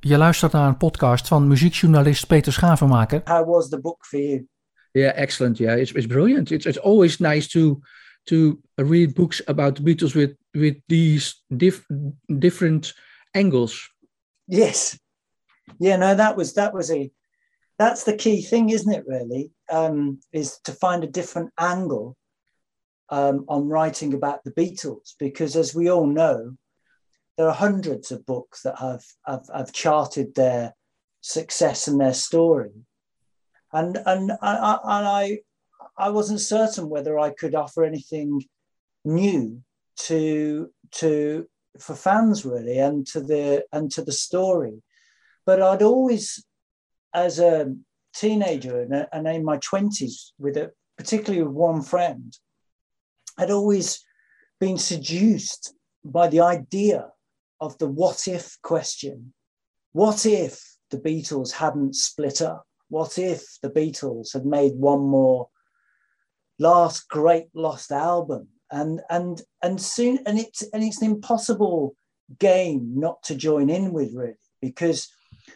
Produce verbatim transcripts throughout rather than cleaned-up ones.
Je luistert naar een podcast van muziekjournalist Peter Schavenmaker. How was the book for you? Yeah, excellent. Yeah, it's it's brilliant. It's it's always nice to to read books about the Beatles with with these diff, different angles. Yes. Yeah, no, that was that was a that's the key thing, isn't it, really? Um, is to find a different angle um, on writing about the Beatles, because as we all know, there are hundreds of books that have, have, have charted their success and their story. And and I, I, and I I wasn't certain whether I could offer anything new to to for fans, really, and to the and to the story. But I'd always, as a teenager and, and in my twenties, with a particularly with one friend, I'd always been seduced by the idea of the what if question. What if the Beatles hadn't split up? What if the Beatles had made one more last great lost album? And and and soon and it's and it's an impossible game not to join in with, really, because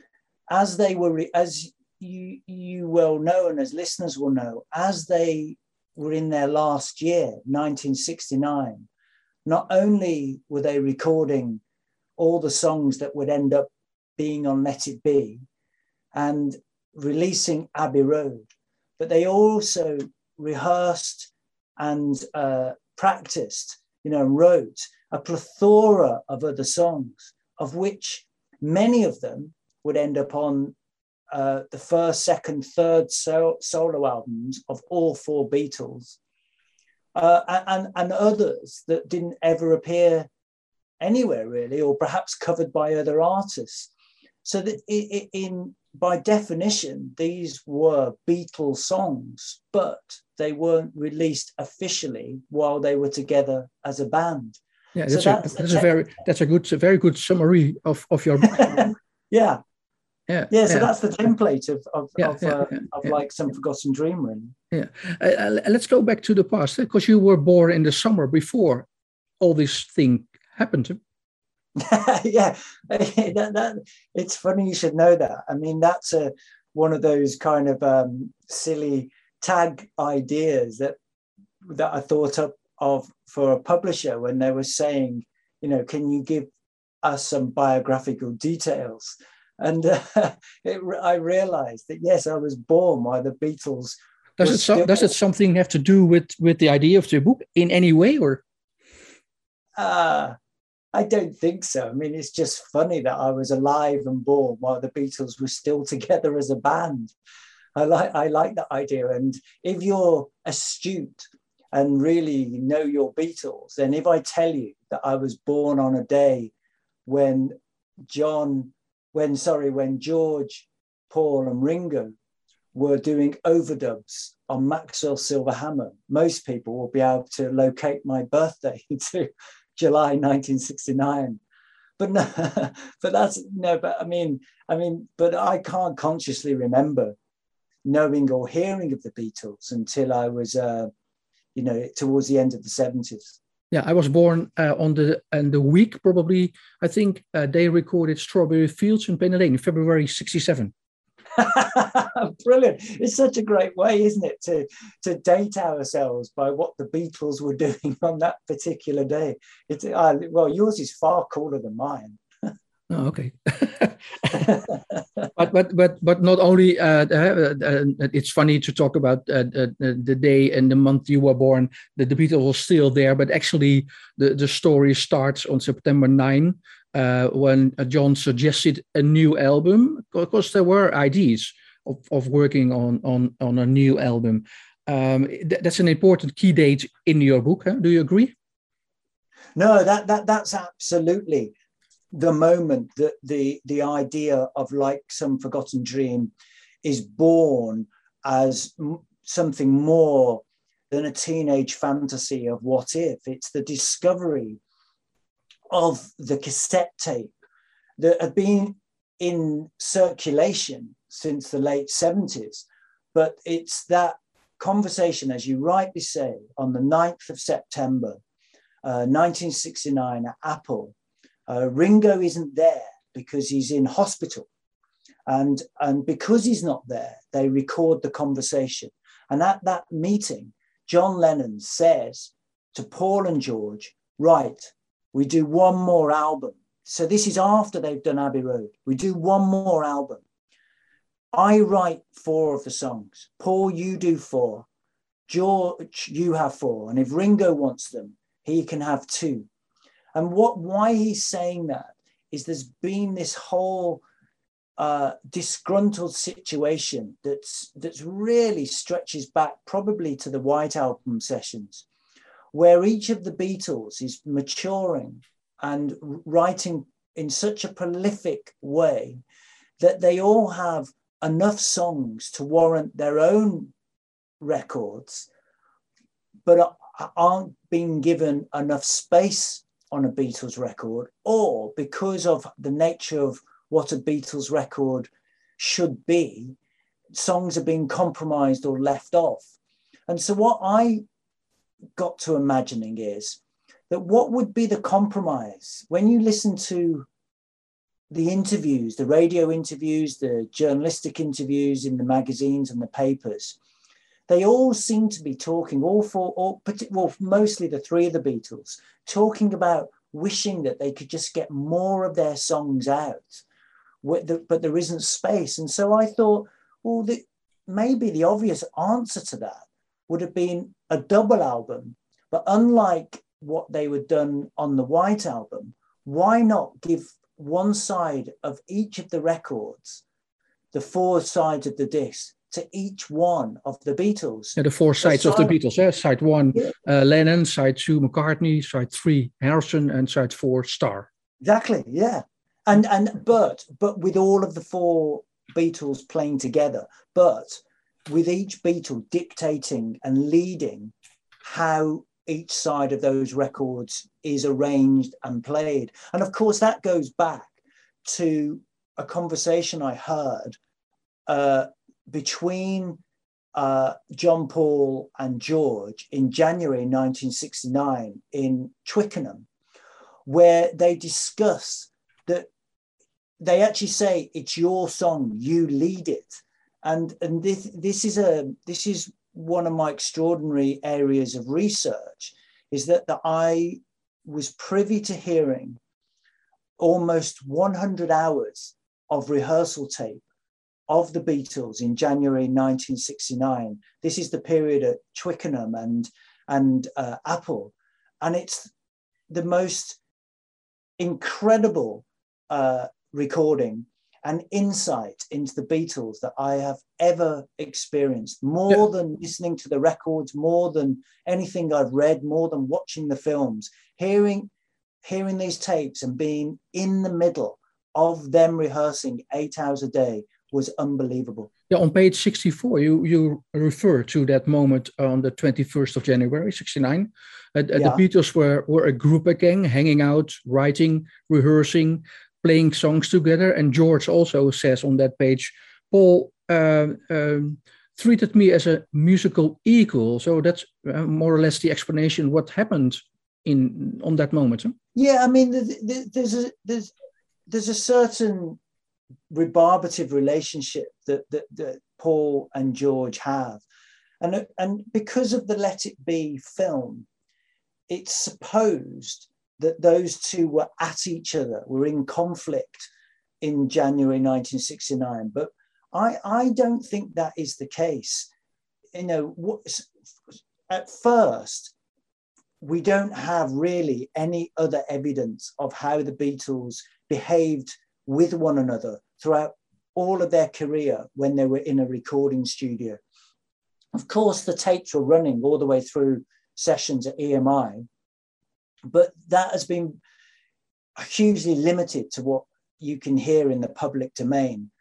as they were as you you well know, and as listeners will know, as they were in their last year, nineteen sixty-nine, not only were they recording all the songs that would end up being on Let It Be and releasing Abbey Road, but they also rehearsed and uh, practiced, you know, and wrote a plethora of other songs, of which many of them would end up on uh, the first, second, third so- solo albums of all four Beatles, uh, and, and others that didn't ever appear anywhere, really, or perhaps covered by other artists. So that it, in by definition, these were Beatles songs, but they weren't released officially while they were together as a band. Yeah, that's, so a, that's, that's a very that's a good a very good summary of of your book. yeah. Yeah, yeah, so yeah. that's the template of of, yeah, of, yeah, uh, yeah, of yeah. like Some Forgotten Dream, really. Yeah, uh, uh, let's go back to the past, because you were born in the summer before all this thing happened. yeah, that, that, it's funny you should know that. I mean, that's a, one of those kind of um, silly tag ideas that that I thought up of for a publisher when they were saying, you know, can you give us some biographical details? And uh, it, I realized that, yes, I was born while the Beatles. Does it so, still... does it something have to do with, with the idea of the book in any way, or? Uh, I don't think so. I mean, it's just funny that I was alive and born while the Beatles were still together as a band. I like I like that idea. And if you're astute and really know your Beatles, then if I tell you that I was born on a day when John, when sorry, when George, Paul, and Ringo were doing overdubs on Maxwell Silverhammer, most people will be able to locate my birthday to July nineteen sixty-nine. But no, but that's no, but I mean, I mean, but I can't consciously remember knowing or hearing of the Beatles until I was, uh, you know, towards the end of the seventies. Yeah, I was born uh, on the and the week probably. I think uh, they recorded Strawberry Fields in Penn Lane in February sixty-seven. Brilliant! It's such a great way, isn't it, to to date ourselves by what the Beatles were doing on that particular day. It's uh, well, yours is far cooler than mine. Oh, okay. but but but but not only. Uh, uh, uh, it's funny to talk about uh, uh, the day and the month you were born. That the Beatles were still there, but actually the the story starts on September ninth. Uh, when uh, John suggested a new album, because there were ideas of, of working on, on, on a new album. Um, th- that's an important key date in your book. Huh? Do you agree? No, that that that's absolutely the moment that the the idea of Like Some Forgotten Dream is born as m- something more than a teenage fantasy of what if. It's the discovery of the cassette tape that had been in circulation since the late seventies. But it's that conversation, as you rightly say, on the ninth of September, uh, nineteen sixty-nine at Apple. Uh, Ringo isn't there, because he's in hospital. And, and because he's not there, they record the conversation. And at that meeting, John Lennon says to Paul and George, right, we do one more album. So this is after they've done Abbey Road. We do one more album. I write four of the songs. Paul, you do four. George, you have four. And if Ringo wants them, he can have two. And what why he's saying that is there's been this whole uh, disgruntled situation that's that's really stretches back probably to the White Album sessions, where each of the Beatles is maturing and writing in such a prolific way that they all have enough songs to warrant their own records, but aren't being given enough space on a Beatles record, or because of the nature of what a Beatles record should be, songs are being compromised or left off. And so what I got to imagining is that what would be the compromise when you listen to the interviews, the radio interviews, the journalistic interviews in the magazines and the papers, they all seem to be talking, all four, all, well, mostly the three of the Beatles, talking about wishing that they could just get more of their songs out, but there isn't space. And so I thought, well, the, maybe the obvious answer to that would have been a double album, but unlike what they were done on the White Album, why not give one side of each of the records, the four sides of the disc, to each one of the Beatles? Yeah, the four sides side, of the Beatles. Eh? Side one, yeah. uh, Lennon. Side two, McCartney. Side three, Harrison. And side four, Starr. Exactly, yeah. And and but but with all of the four Beatles playing together, but with each Beatle dictating and leading how each side of those records is arranged and played. And of course, that goes back to a conversation I heard uh, between uh, John, Paul and George in January nineteen sixty-nine in Twickenham, where they discuss that they actually say, it's your song, you lead it. And, and this, this is a this is one of my extraordinary areas of research, is that, that I was privy to hearing almost one hundred hours of rehearsal tape of the Beatles in January nineteen sixty-nine. This is the period at Twickenham and, and uh, Apple. And it's the most incredible uh, recording and insight into the Beatles that I have ever experienced, more yeah. than listening to the records, more than anything I've read, more than watching the films. Hearing, hearing these tapes and being in the middle of them rehearsing eight hours a day was unbelievable. Yeah, on page sixty-four, you, you refer to that moment on the twenty-first of January, sixty-nine. Uh, yeah. The Beatles were, were a group again, hanging out, writing, rehearsing, playing songs together. And George also says on that page, Paul uh, um, treated me as a musical equal. So that's uh, more or less the explanation what happened in on that moment. Huh? Yeah, I mean, there's a, there's, there's a certain rebarbative relationship that, that, that Paul and George have. And, and because of the Let It Be film, it's supposed that those two were at each other, were in conflict in January nineteen sixty-nine. But I, I don't think that is the case. You know, what, at first, we don't have really any other evidence of how the Beatles behaved with one another throughout all of their career when they were in a recording studio. Of course, the tapes were running all the way through sessions at E M I, but that has been hugely limited to what you can hear in the public domain.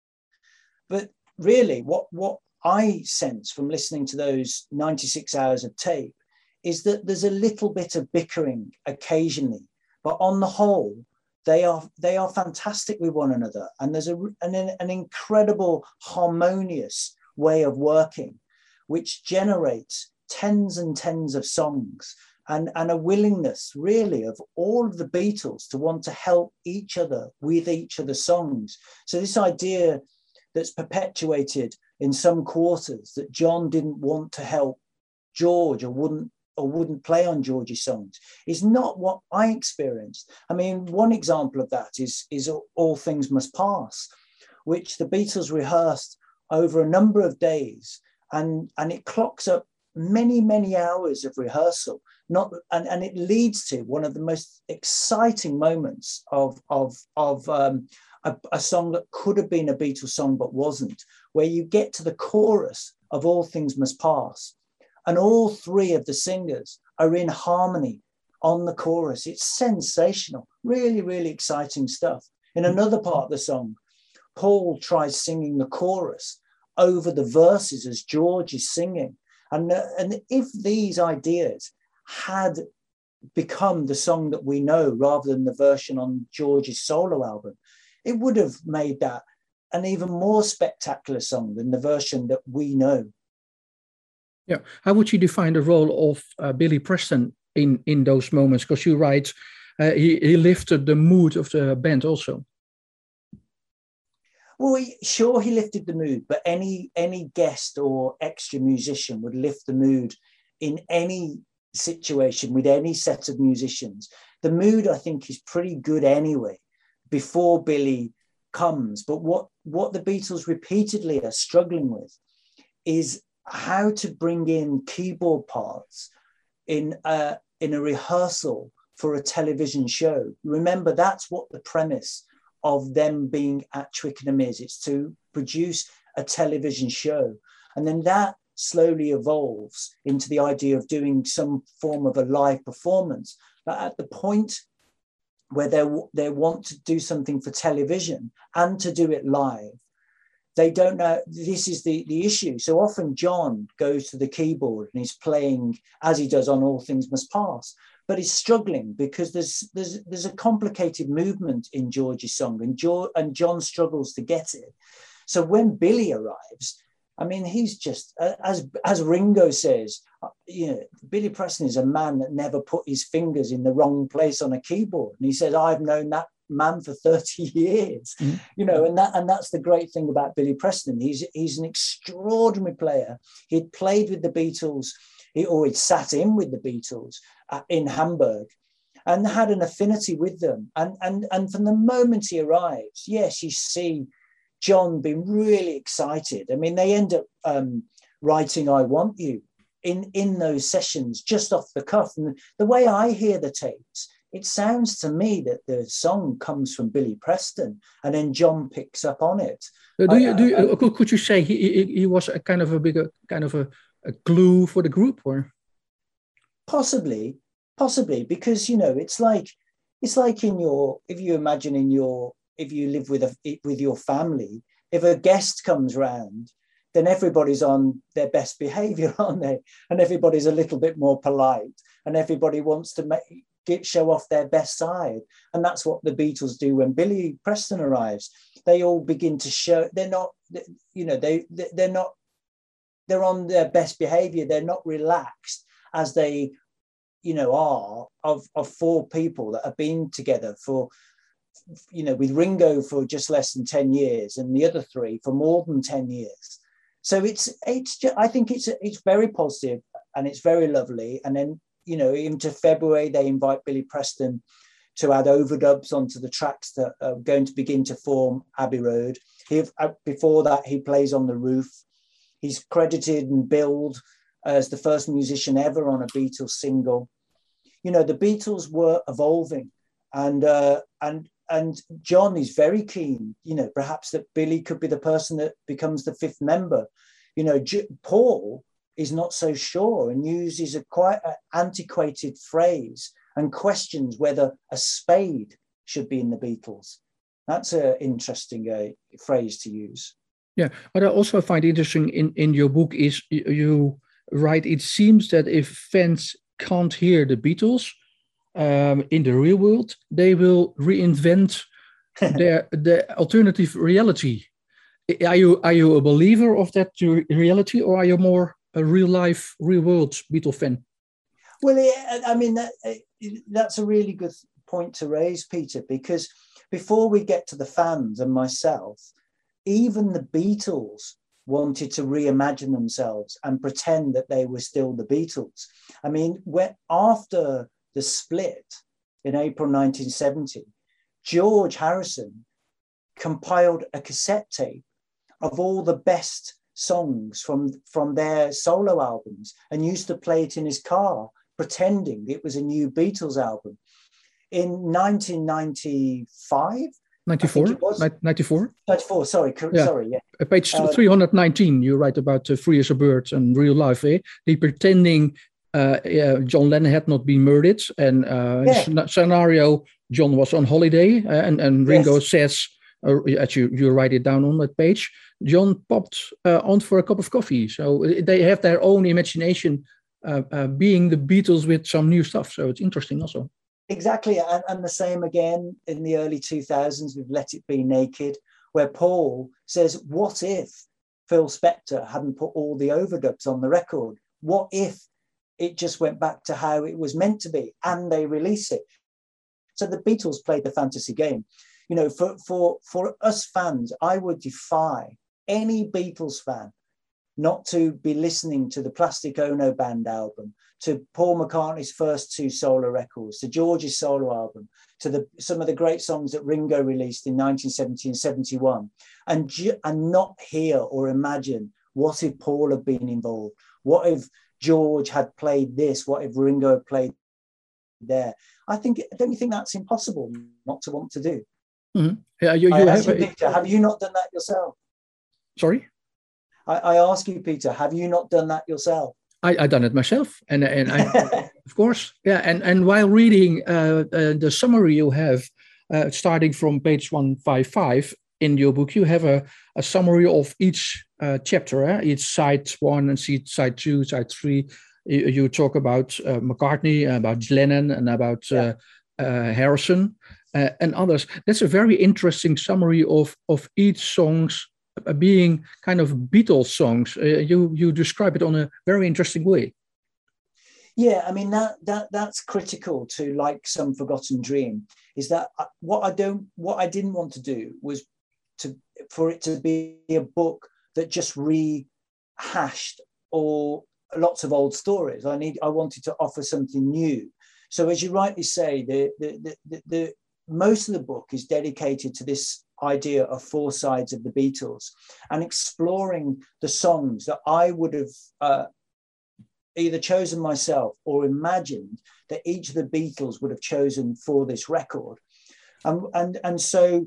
But really, what, what I sense from listening to those ninety-six hours of tape is that there's a little bit of bickering occasionally, but on the whole, they are they are fantastic with one another. And there's a, an, an incredible harmonious way of working, which generates tens and tens of songs and, and a willingness really of all of the Beatles to want to help each other with each other's songs. So this idea that's perpetuated in some quarters that John didn't want to help George or wouldn't or wouldn't play on George's songs is not what I experienced. I mean, one example of that is, is All Things Must Pass, which the Beatles rehearsed over a number of days, and, and it clocks up many, many hours of rehearsal, not and, and it leads to one of the most exciting moments of, of, of um, a, a song that could have been a Beatles song but wasn't, where you get to the chorus of All Things Must Pass, and all three of the singers are in harmony on the chorus. It's sensational, really, really exciting stuff. In another part of the song, Paul tries singing the chorus over the verses as George is singing. And, uh, and if these ideas had become the song that we know rather than the version on George's solo album, it would have made that an even more spectacular song than the version that we know. Yeah. How would you define the role of uh, Billy Preston in, in those moments? Because you write, uh, he, he lifted the mood of the band also. Well, he, sure, he lifted the mood, but any any guest or extra musician would lift the mood in any situation with any set of musicians. The mood, I think, is pretty good anyway before Billy comes. But what, what the Beatles repeatedly are struggling with is how to bring in keyboard parts in a, in a rehearsal for a television show. Remember, that's what the premise of them being at Twickenham is. It's to produce a television show. And then that slowly evolves into the idea of doing some form of a live performance. But at the point where they, they want to do something for television and to do it live, they don't know, this is the, the issue. So often John goes to the keyboard and he's playing as he does on All Things Must Pass, but he's struggling because there's there's there's a complicated movement in George's song, and, jo- and John struggles to get it. So when Billy arrives, I mean, he's just, as, as Ringo says, you know, Billy Preston is a man that never put his fingers in the wrong place on a keyboard. And he says, I've known that man for thirty years, mm-hmm. you know, and that and that's the great thing about Billy Preston. He's he's an extraordinary player. He'd played with the Beatles, he always sat in with the Beatles uh, in Hamburg, and had an affinity with them. And and and from the moment he arrives, yes, you see John being really excited. I mean, they end up um, writing "I Want You" in in those sessions just off the cuff. And the way I hear the tapes, it sounds to me that the song comes from Billy Preston, and then John picks up on it. Do you, do you, could, could you say he, he, he was a kind of a bigger kind of a, a glue for the group, or possibly, possibly because you know it's like it's like in your if you imagine in your if you live with a with your family, if a guest comes round, then everybody's on their best behaviour, aren't they? And everybody's a little bit more polite, and everybody wants to make. Get, show off their best side. And that's what the Beatles do when Billy Preston arrives. They all begin to show, they're not, you know, they, they're not, they're on their best behavior. They're not relaxed as they, you know, are of, of four people that have been together for, you know, with Ringo for just less than ten years and the other three for more than ten years. So it's, it's just, I think it's, it's very positive and it's very lovely. And then, you know, into February, they invite Billy Preston to add overdubs onto the tracks that are going to begin to form Abbey Road. He, before that, he plays on the roof. He's credited and billed as the first musician ever on a Beatles single. You know, the Beatles were evolving, and uh, and and John is very keen, you know, perhaps that Billy could be the person that becomes the fifth member. You know, J- Paul is not so sure and uses a quite a antiquated phrase and questions whether a spade should be in the Beatles. That's an interesting uh, phrase to use. Yeah, what I also find interesting in, in your book is you, you write, it seems that if fans can't hear the Beatles um, in the real world, they will reinvent their, their alternative reality. Are you, are you a believer of that reality, or are you more a real life, real world Beatle fan? Well, it, I mean, that, it, that's a really good point to raise, Peter, because before we get to the fans and myself, even the Beatles wanted to reimagine themselves and pretend that they were still the Beatles. I mean, when, after the split in April nineteen seventy, George Harrison compiled a cassette tape of all the best songs from, from their solo albums and used to play it in his car, pretending it was a new Beatles album. In nineteen ninety-five, ninety-four? ninety-four? ninety-four, sorry, yeah. sorry, yeah. Page uh, three hundred nineteen, you write about uh, Free as a Bird and real life, eh? He pretending uh, uh, John Lennon had not been murdered, and uh, yeah. in the scenario, John was on holiday, uh, and, and Ringo yes. says, uh, as you, you write it down on that page, John popped uh, on for a cup of coffee. So they have their own imagination, uh, uh, being the Beatles with some new stuff. So it's interesting also. Exactly, and, and the same again in the early two thousands with Let It Be Naked, where Paul says, what if Phil Spector hadn't put all the overdubs on the record? What if it just went back to how it was meant to be and they release it? So the Beatles played the fantasy game. You know, for, for, for us fans, I would defy any Beatles fan not to be listening to the Plastic Ono Band album, to Paul McCartney's first two solo records, to George's solo album, to the, some of the great songs that Ringo released in nineteen seventy and seventy-one, and, and not hear or imagine, what if Paul had been involved? What if George had played this? What if Ringo had played there? I think, don't you think that's impossible not to want to do? Mm-hmm. Yeah, you, you I have, you, Peter, have you not done that yourself? Sorry? I, I ask you, Peter, have you not done that yourself? I, I done it myself, and and I, of course, yeah. And and while reading uh, uh, the summary you have, uh, starting from page one fifty-five in your book, you have a, a summary of each uh, chapter, eh? Each side one and side two, side three. You, you talk about uh, McCartney, about Lennon, and about uh, uh, Harrison uh, and others. That's a very interesting summary of of each song's being kind of Beatles songs. Uh, you you describe it on a very interesting way. Yeah, I mean that that that's critical to Like Some Forgotten Dream. Is that what I don't what I didn't want to do was to for it to be a book that just rehashed or lots of old stories. I need I wanted to offer something new. So as you rightly say, the the the, the, the most of the book is dedicated to this idea of four sides of the Beatles and exploring the songs that I would have uh, either chosen myself or imagined that each of the Beatles would have chosen for this record. Um, and, and so,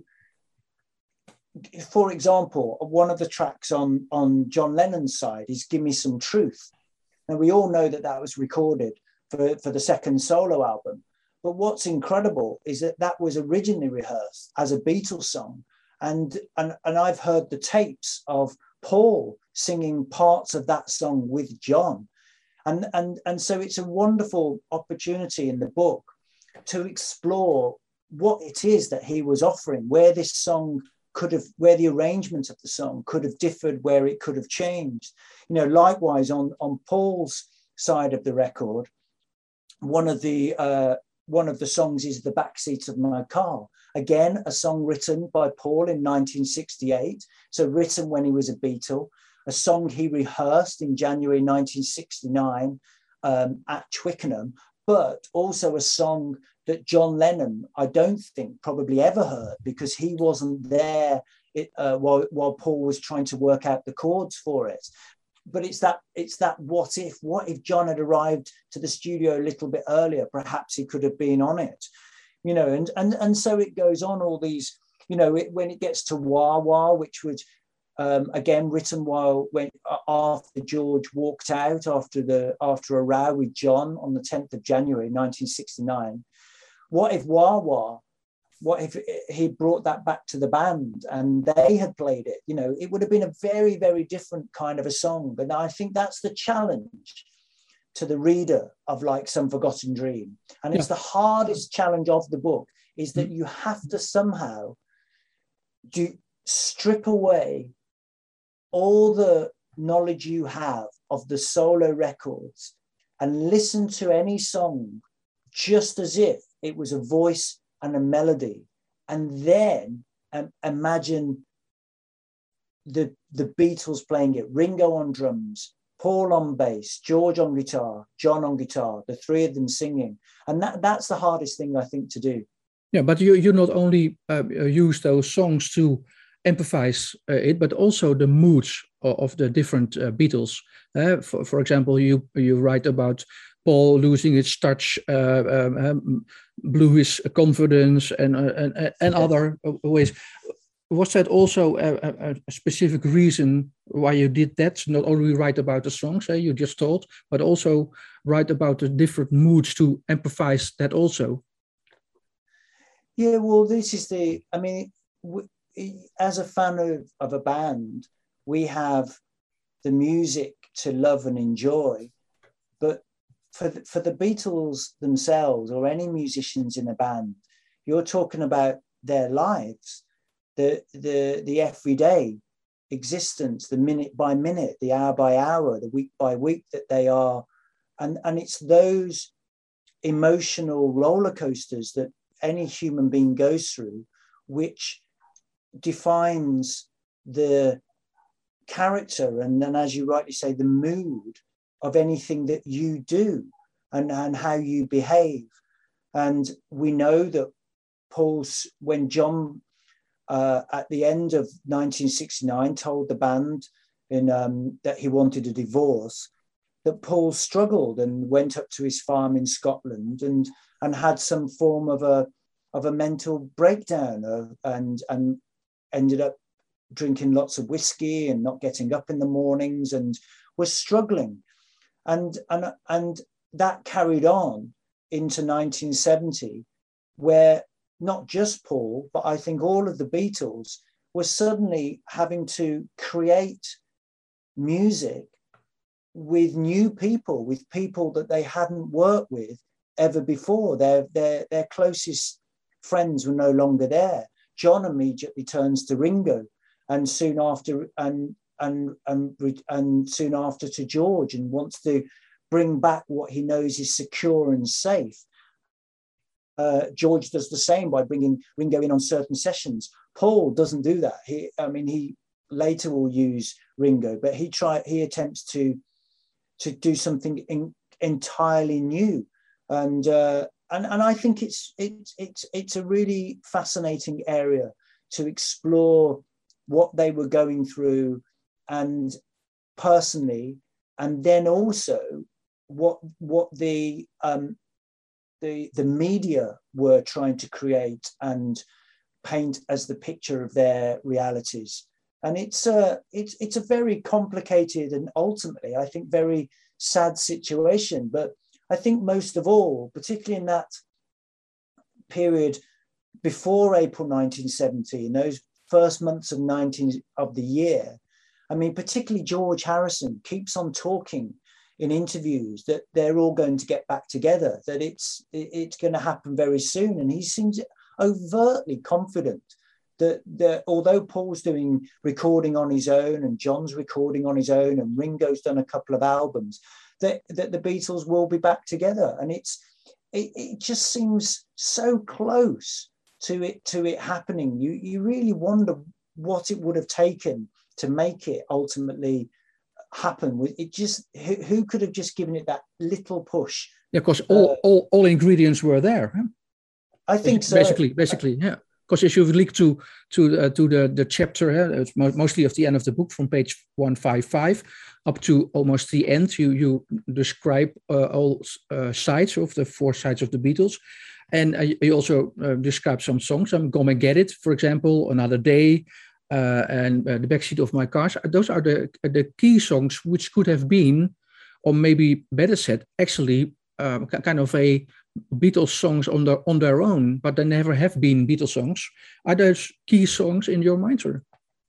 for example, one of the tracks on, on John Lennon's side is Give Me Some Truth. And we all know that that was recorded for, for the second solo album. But what's incredible is that that was originally rehearsed as a Beatles song. And, and, and I've heard the tapes of Paul singing parts of that song with John. And, and, and so it's a wonderful opportunity in the book to explore what it is that he was offering, where this song could have, where the arrangement of the song could have differed, where it could have changed. You know, likewise on, on Paul's side of the record, one of the, uh, one of the songs is The Backseat of My Car. Again, a song written by Paul in nineteen sixty-eight. So written when he was a Beatle, a song he rehearsed in January nineteen sixty-nine um, at Twickenham, but also a song that John Lennon, I don't think probably ever heard because he wasn't there it, uh, while, while Paul was trying to work out the chords for it. But it's that it's that what if, what if John had arrived to the studio a little bit earlier, perhaps he could have been on it, you know, and and and so it goes on all these, you know, it, when it gets to Wah Wah, which was um, again written while when after George walked out after the after a row with John on the tenth of January nineteen sixty-nine. What if Wah Wah? What if he brought that back to the band and they had played it? You know, it would have been a very, very different kind of a song. But I think that's the challenge to the reader of Like Some Forgotten Dream. And it's yeah. the hardest challenge of the book is that mm. you have to somehow do strip away all the knowledge you have of the solo records and listen to any song just as if it was a voice and a melody, and then um, imagine the, the Beatles playing it, Ringo on drums, Paul on bass, George on guitar, John on guitar, the three of them singing. And that, that's the hardest thing, I think, to do. Yeah, but you, you not only uh, use those songs to emphasize uh, it, but also the moods of, of the different uh, Beatles. Uh, for, for example, you, you write about Paul losing his touch, uh, um, um, blew his confidence, and, uh, and, and other ways. Was that also a, a, a specific reason why you did that? Not only write about the songs uh, you just told, but also write about the different moods to emphasize that also. Yeah, well, this is the, I mean, we, as a fan of, of a band, we have the music to love and enjoy, but for the, for the Beatles themselves, or any musicians in a band, you're talking about their lives. The, the, the everyday existence, the minute by minute, the hour by hour, the week by week that they are. And, and it's those emotional roller coasters that any human being goes through, which defines the character and then, as you rightly say, the mood of anything that you do and, and how you behave. And we know that Paul's, when John Uh, at the end of nineteen sixty-nine, told the band in, um, that he wanted a divorce, that Paul struggled and went up to his farm in Scotland and, and had some form of a, of a mental breakdown of, and, and ended up drinking lots of whiskey and not getting up in the mornings and was struggling. And, and, and that carried on into nineteen seventy, where not just Paul, but I think all of the Beatles were suddenly having to create music with new people, with people that they hadn't worked with ever before. Their, their, their closest friends were no longer there. John immediately turns to Ringo, and soon after, and and and and soon after to George, and wants to bring back what he knows is secure and safe. Uh, George does the same by bringing Ringo in on certain sessions. Paul doesn't do that. He, I mean, he later will use Ringo, but he try he attempts to to do something in, entirely new, and uh, and and I think it's it's it's it's a really fascinating area to explore what they were going through, and personally, and then also what what the um, The, the media were trying to create and paint as the picture of their realities. And it's a, it's, it's a very complicated and ultimately, I think, very sad situation. But I think most of all, particularly in that period before April nineteen seventy, in those first months of nineteen of the year, I mean, particularly George Harrison keeps on talking in interviews that they're all going to get back together, that it's it's going to happen very soon. And he seems overtly confident that, that although Paul's doing recording on his own and John's recording on his own and Ringo's done a couple of albums, that, that the Beatles will be back together. And it's it, it just seems so close to it to it happening. You, you really wonder what it would have taken to make it ultimately happen. It just who, who could have just given it that little push? Yeah, because all, uh, all all ingredients were there. Huh? I think so. Basically, basically, yeah. Because if you link to to uh, to the the chapter, uh, it's mo mostly of the end of the book from page one fifty-five up to almost the end, you you describe uh, all uh, sides of the four sides of the Beatles, and uh, you also uh, describe some songs. I'm Gonna Get It, for example, Another Day. Uh, and uh, The Backseat of My Car. Those are the the key songs which could have been, or maybe better said, actually um, kind of a Beatles songs on their on their own, but they never have been Beatles songs. Are those key songs in your mind, or?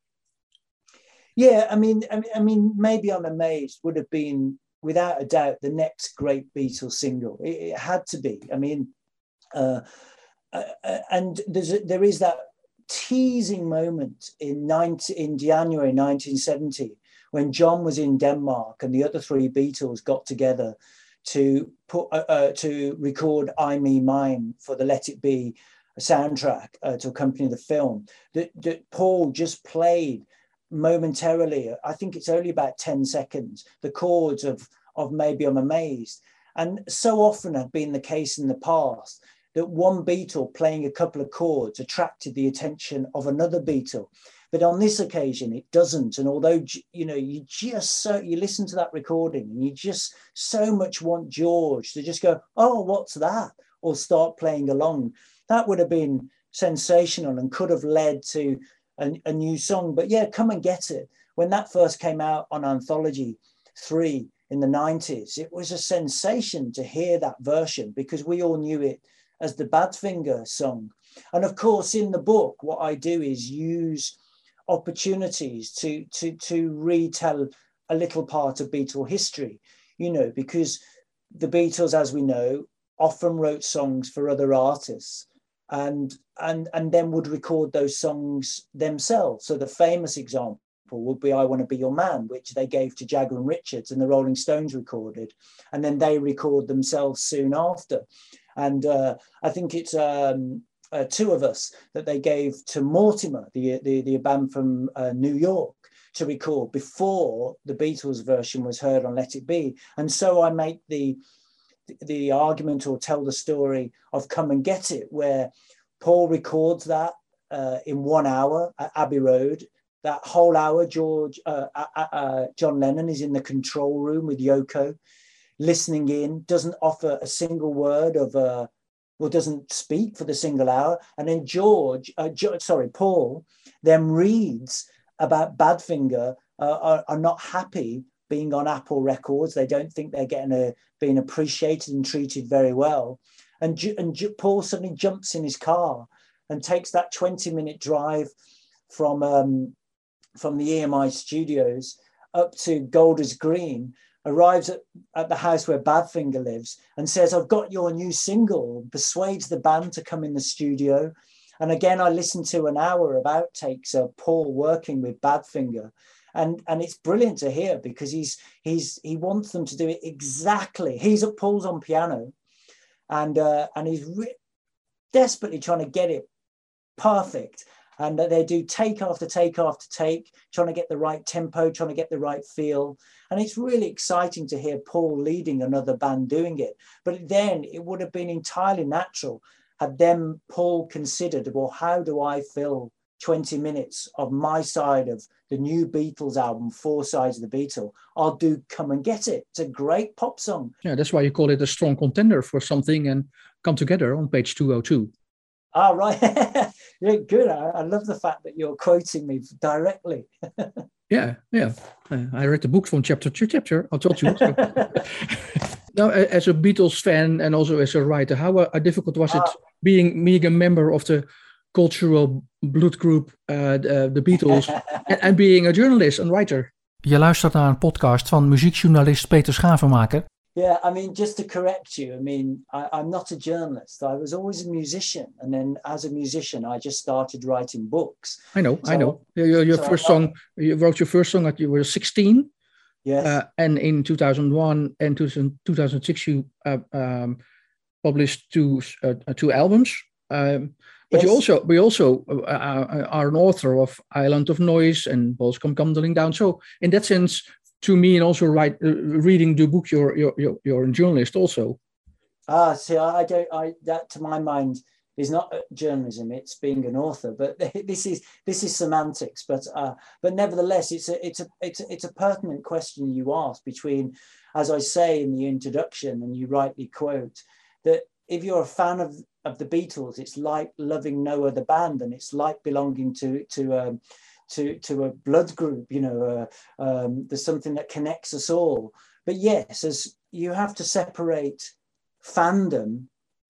Yeah, I mean, I mean, I mean, maybe I'm Amazed would have been, without a doubt, the next great Beatles single. It, it had to be. I mean, uh, uh, and there's a, there is that teasing moment in nineteen, in January nineteen seventy when John was in Denmark and the other three Beatles got together to put uh, uh, to record I Me Mine for the Let It Be soundtrack uh, to accompany the film, that, that Paul just played momentarily, I think it's only about ten seconds, the chords of, of Maybe I'm Amazed. And so often had been the case in the past that one Beatle playing a couple of chords attracted the attention of another Beatle. But on this occasion, it doesn't. And although, you know, you just so, you listen to that recording and you just so much want George to just go, oh, what's that? Or start playing along. That would have been sensational and could have led to a, a new song. But yeah, Come and Get It. When that first came out on Anthology three in the nineties, it was a sensation to hear that version because we all knew it as the Badfinger song. And of course, in the book, what I do is use opportunities to, to, to retell a little part of Beatle history, you know, because the Beatles, as we know, often wrote songs for other artists and, and, and then would record those songs themselves. So the famous example would be I Want to Be Your Man, which they gave to Jagger and Richards and the Rolling Stones recorded. And then they record themselves soon after. And uh, I think it's um, uh, Two of Us that they gave to Mortimer, the, the, the band from uh, New York, to record before the Beatles version was heard on Let It Be. And so I make the, the argument or tell the story of Come and Get It, where Paul records that uh, in one hour at Abbey Road. That whole hour, George, uh, uh, uh, John Lennon is in the control room with Yoko, listening in, doesn't offer a single word of, uh, well, doesn't speak for the single hour. And then George, uh, jo- sorry, Paul, then reads about Badfinger uh, are, are not happy being on Apple Records. They don't think they're getting a, being appreciated and treated very well. And, and Paul suddenly jumps in his car and takes that twenty minute drive from, um, from the E M I studios up to Golders Green, arrives at, at the house where Badfinger lives and says, I've got your new single, persuades the band to come in the studio. And again, I listened to an hour of outtakes of Paul working with Badfinger. And, and it's brilliant to hear because he's, he's, he wants them to do it exactly. He's at Paul's on piano and, uh, and he's re- desperately trying to get it perfect. And they do take after take after take, trying to get the right tempo, trying to get the right feel. And it's really exciting to hear Paul leading another band doing it. But then it would have been entirely natural had then Paul considered, well, how do I fill twenty minutes of my side of the new Beatles album, Four Sides of the Beatle? I'll do Come and Get It. It's a great pop song. Yeah, that's why you call it a strong contender for something and Come Together on page two oh two. Ah, right. Yeah, good. I, I love the fact that you're quoting me directly. yeah, yeah. Uh, I read the book from chapter to chapter. I told you. So. Now, as a Beatles fan and also as a writer, how uh, difficult was ah. it being, being a member of the cultural blood group, uh, the, the Beatles, and, and being a journalist and writer? Je luistert naar een podcast van muziekjournalist Peter Schavenmaker. Yeah, I mean, just to correct you, I mean, I, I'm not a journalist. I was always a musician. And then as a musician, I just started writing books. I know, so, I know. Your, your so first song, you wrote your first song at you were sixteen. Yes. Uh, and in two thousand one and two thousand six, you uh, um, published two uh, two albums. Um, but yes. you also, we also uh, are an author of Island of Noise and Balls Come Tumbling Down. So in that sense, to me, and also write, uh, reading the book, you're, you're, you're, you're a journalist also. Ah, see, I don't, I, that to my mind is not journalism, it's being an author, but this is, this is semantics, but, uh, but nevertheless, it's a, it's a, it's a, it's a pertinent question you ask between, as I say in the introduction, and you rightly quote, that if you're a fan of, of the Beatles, it's like loving no other band, and it's like belonging to, to, um, to, to a blood group, you know, uh, um, there's something that connects us all. But yes, as you have to separate fandom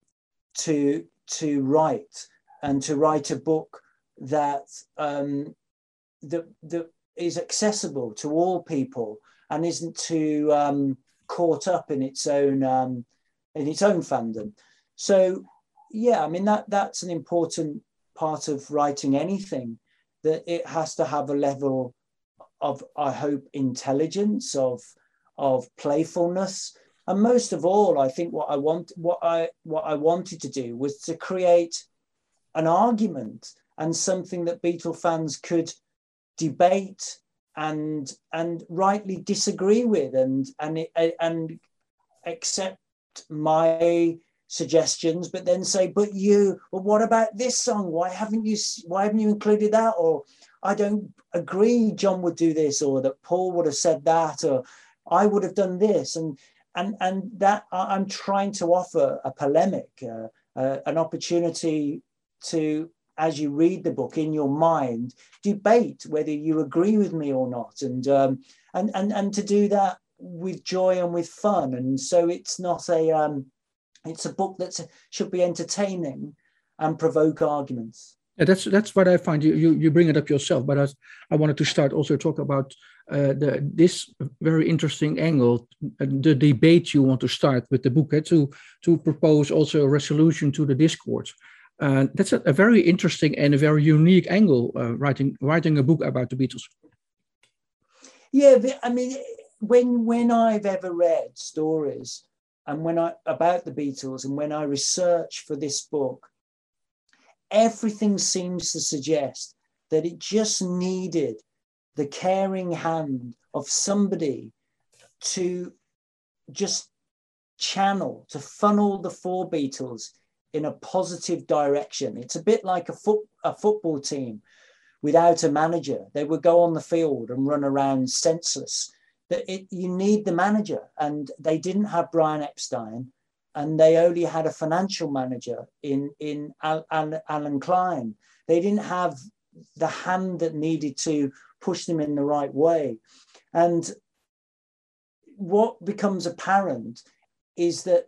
to, to write, and to write a book that, um, that, that is accessible to all people and isn't too um, caught up in its own, um, in its own fandom. So, yeah, I mean, that that's an important part of writing anything, that it has to have a level of, I hope, intelligence, of, of playfulness, and most of all, I think what I want, what I what I wanted to do was to create an argument and something that Beatle fans could debate and and rightly disagree with, and and and accept my suggestions, but then say, but you, well, what about this song? Why haven't you why haven't you included that? Or I don't agree John would do this, or that Paul would have said that, or I would have done this. And and and that I'm trying to offer a polemic, uh, uh, an opportunity to, as you read the book in your mind, debate whether you agree with me or not, and um, and and and to do that with joy and with fun. And so it's not a um, it's a book that should be entertaining and provoke arguments. Yeah, that's that's what I find. You you you bring it up yourself, but I, I wanted to start also talk about uh, the this very interesting angle, uh, the debate you want to start with the book, eh, to to propose also a resolution to the discourse. Uh, that's a, a very interesting and a very unique angle, uh, writing writing a book about the Beatles. Yeah, I mean, when when I've ever read stories and when I about the Beatles, and when I research for this book, everything seems to suggest that it just needed the caring hand of somebody to just channel, to funnel the four Beatles in a positive direction. It's a bit like a, foot, a football team without a manager. They would go on the field and run around senseless. That it, you need the manager, and they didn't have Brian Epstein, and they only had a financial manager in, in Al, Al, Alan Klein. They didn't have the hand that needed to push them in the right way. And what becomes apparent is that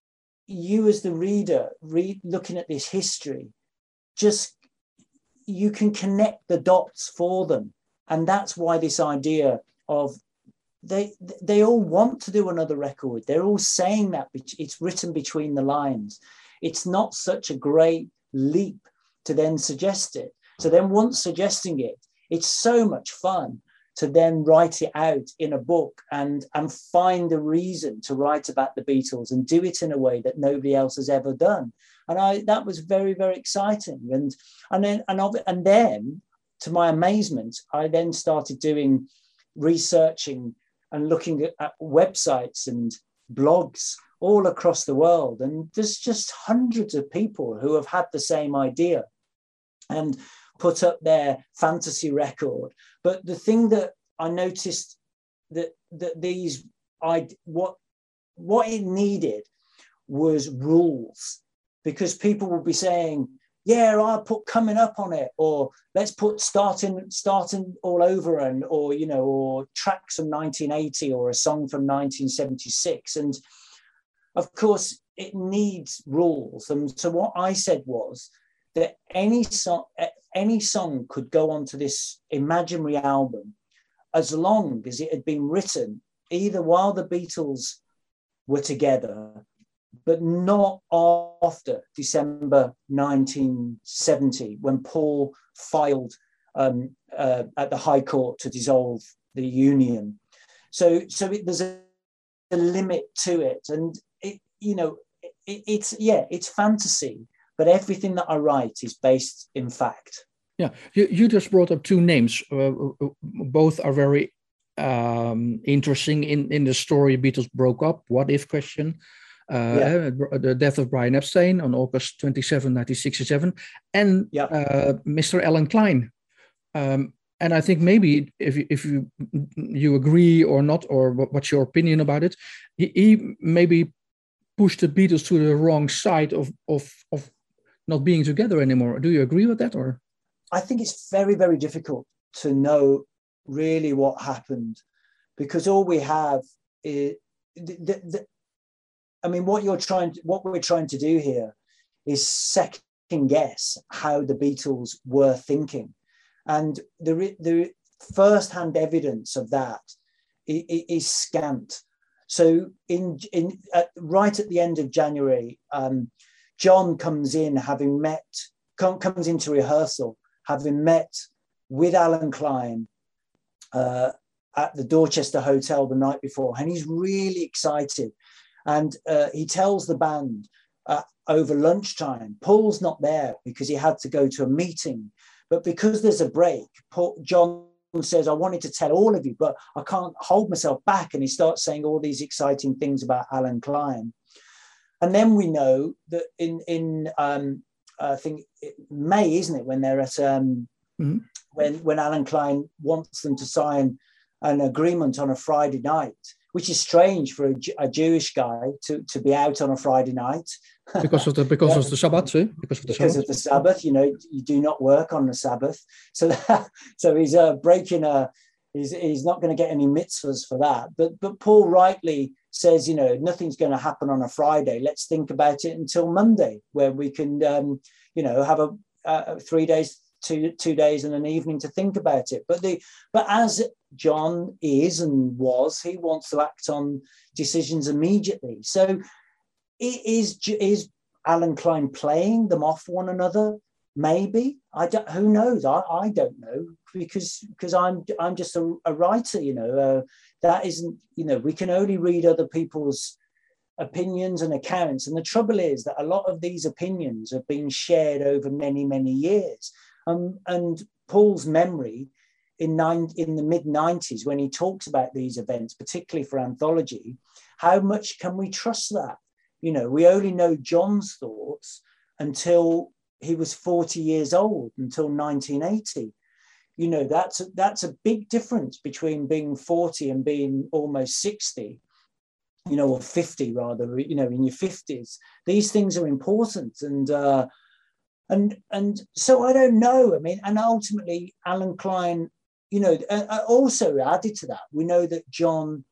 you as the reader, read, looking at this history, just, you can connect the dots for them. And that's why this idea of They they all want to do another record. They're all saying that it's written between the lines. It's not such a great leap to then suggest it. So then once suggesting it, it's so much fun to then write it out in a book and, and find a reason to write about the Beatles and do it in a way that nobody else has ever done. And I that was very, very exciting. And, and, then, and, and then, to my amazement, I then started doing researching and looking at, at websites and blogs all across the world. And there's just hundreds of people who have had the same idea and put up their fantasy record. But the thing that I noticed that, that these, I, what, what it needed was rules, because people would be saying, yeah, I'll put coming up on it, or let's put starting starting all over, and or you know, or tracks from nineteen eighty, or a song from nineteen seventy-six. And of course it needs rules. And so what I said was that any song any song could go onto this imaginary album as long as it had been written either while the Beatles were together, but not after December nineteen seventy, when Paul filed um, uh, at the High Court to dissolve the union. So, so it, there's a, a limit to it, and it, you know, it, it's yeah, it's fantasy, but everything that I write is based in fact. Yeah, you, you just brought up two names. Uh, both are very um, interesting in in the story. Beatles broke up. What if question. Uh, yeah. The death of Brian Epstein on August twenty-seventh, nineteen sixty-seven, and yeah. uh, Mister Alan Klein. Um, and I think maybe if you, if you you agree or not, or what, what's your opinion about it, he, he maybe pushed the Beatles to the wrong side of, of, of not being together anymore. Do you agree with that? Or I think it's very, very difficult to know really what happened, because all we have is the, the, the I mean, what you're trying, to, what we're trying to do here is second guess how the Beatles were thinking, and the the first-hand evidence of that is, is scant. So, in in at, right at the end of January, um, John comes in having met, com, comes into rehearsal having met with Alan Klein, uh, at the Dorchester Hotel the night before, and he's really excited. And uh, he tells the band uh, over lunchtime, Paul's not there because he had to go to a meeting. But because there's a break, Paul, John says, I wanted to tell all of you, but I can't hold myself back. And he starts saying all these exciting things about Alan Klein. And then we know that in, in um, I think May, isn't it, when they're at, um, mm-hmm. when, when Alan Klein wants them to sign an agreement on a Friday night, which is strange for a, a Jewish guy to, to be out on a Friday night. Because of the because yeah. of the Sabbath, eh? because of the because Sabbath. of the Sabbath, you know, you do not work on the Sabbath. So that, so he's uh, breaking a, he's, he's not going to get any mitzvahs for that. But but Paul rightly says, you know, nothing's going to happen on a Friday. Let's think about it until Monday, where we can, um, you know, have a, a three days, two two days and an evening to think about it. But the but as John is and was, he wants to act on decisions immediately. So is is Alan Klein playing them off one another? Maybe. I don't. Who knows? I, I don't know because because I'm I'm just a, a writer. You know, uh, that isn't. You know, we can only read other people's opinions and accounts. And the trouble is that a lot of these opinions have been shared over many many years. Um, and Paul's memory in nine in the mid nineties when he talks about these events, particularly for anthology, how much can we trust that? You know, we only know John's thoughts until he was forty years old, until nineteen eighty. You know, that's a, that's a big difference between being forty and being almost sixty, you know, or fifty rather, you know, in your fifties. These things are important. And, uh, and, and so I don't know. I mean, and ultimately, Alan Klein, you know, uh, also added to that, we know that John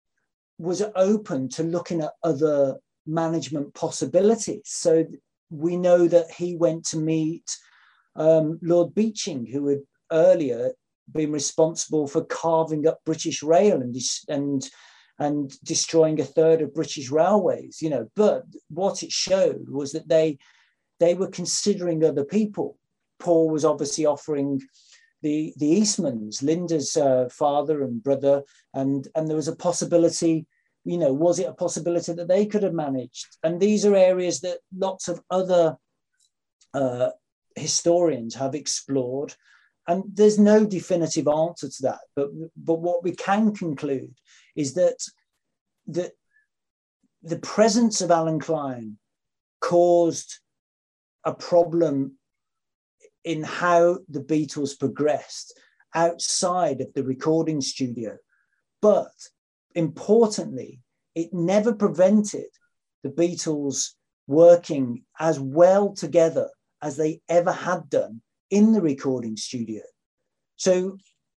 was open to looking at other management possibilities. So we know that he went to meet um, Lord Beeching, who had earlier been responsible for carving up British Rail and and and destroying a third of British railways. You know, but what it showed was that they they were considering other people. Paul was obviously offering the the Eastmans, Linda's uh, father and brother, and and there was a possibility. You know, was it a possibility that they could have managed? And these are areas that lots of other uh, historians have explored. And there's no definitive answer to that. But, but what we can conclude is that the, the presence of Alan Klein caused a problem in how the Beatles progressed outside of the recording studio. But importantly, it never prevented the Beatles working as well together as they ever had done in the recording studio. So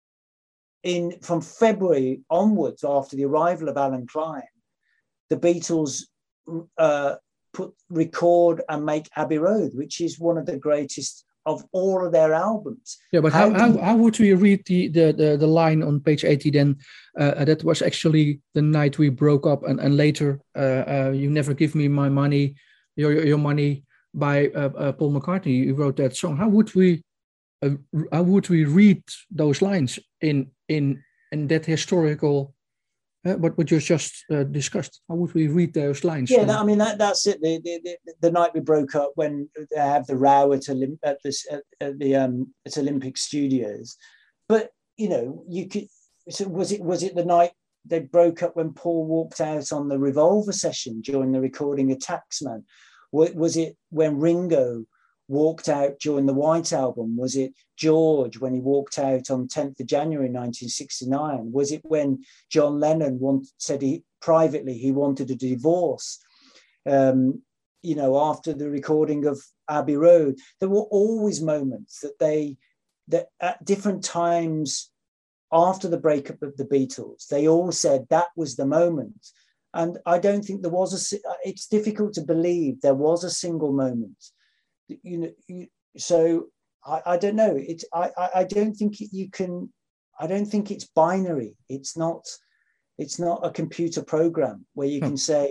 in from February onwards, after the arrival of Alan Klein, the Beatles uh, put record and make Abbey Road, which is one of the greatest of all of their albums. Yeah, but how, how, how would we read the, the, the, the line on page eighty then? Uh, that was actually the night we broke up, and, and later, uh, uh, you never give me my money, your your money, by uh, uh, Paul McCartney. You wrote that song. How would we uh, how would we read those lines in in in that historical? Uh, what what you just uh, discussed? How would we read those lines? Yeah, that, I mean that that's it. The, the the the night we broke up, when they have the row at Olymp- at this at, at the um at Olympic Studios, but you know you could. So was it was it the night they broke up when Paul walked out on the Revolver session during the recording of Taxman? Was it when Ringo walked out during the White Album? Was it George when he walked out on tenth of January nineteen sixty-nine? Was it when John Lennon want, said he privately he wanted a divorce, um, you know, after the recording of Abbey Road? There were always moments that they, that at different times after the breakup of the Beatles, they all said that was the moment. And I don't think there was a, it's difficult to believe there was a single moment. You know, you, so I, I don't know. It's I, I don't think you can. I don't think it's binary. It's not. It's not a computer program where you can say